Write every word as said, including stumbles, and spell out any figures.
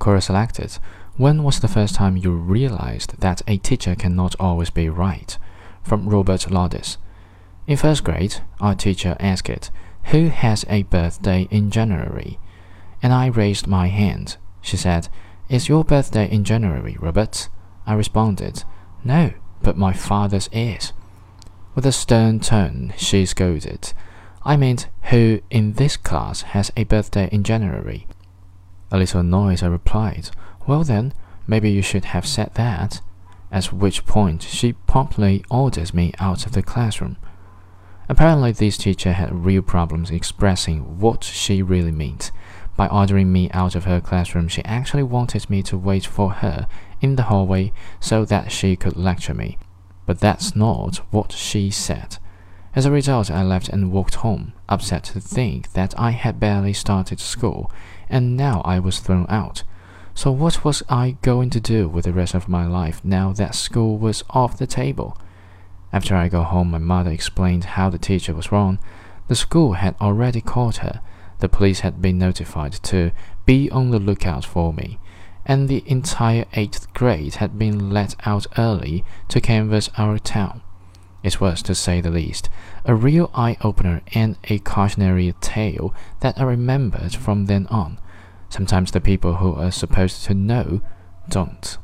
Quora selected. When was the first time you realized that a teacher cannot always be right? From Robert Lodis. In first grade, our teacher asked, "Who has a birthday in January?" And I raised my hand. She said, "Is your birthday in January, Robert?" I responded, "No, but my father's is." With a stern tone, she scolded, "I meant who in this class has a birthday in January?" A little annoyed, I replied, "Well then, maybe you should have said that," at which point she promptly ordered me out of the classroom. Apparently this teacher had real problems expressing what she really meant. By ordering me out of her classroom, she actually wanted me to wait for her in the hallway so that she could lecture me. But that's not what she said. As a result, I left and walked home, upset to think that I had barely started school, and now I was thrown out. So what was I going to do with the rest of my life now that school was off the table? After I got home, my mother explained how the teacher was wrong. The school had already caught her. The police had been notified to be on the lookout for me, and the entire eighth grade had been let out early to canvass our town. It was, to say the least, a real eye-opener and a cautionary tale that I remembered from then on. Sometimes the people who are supposed to know don't.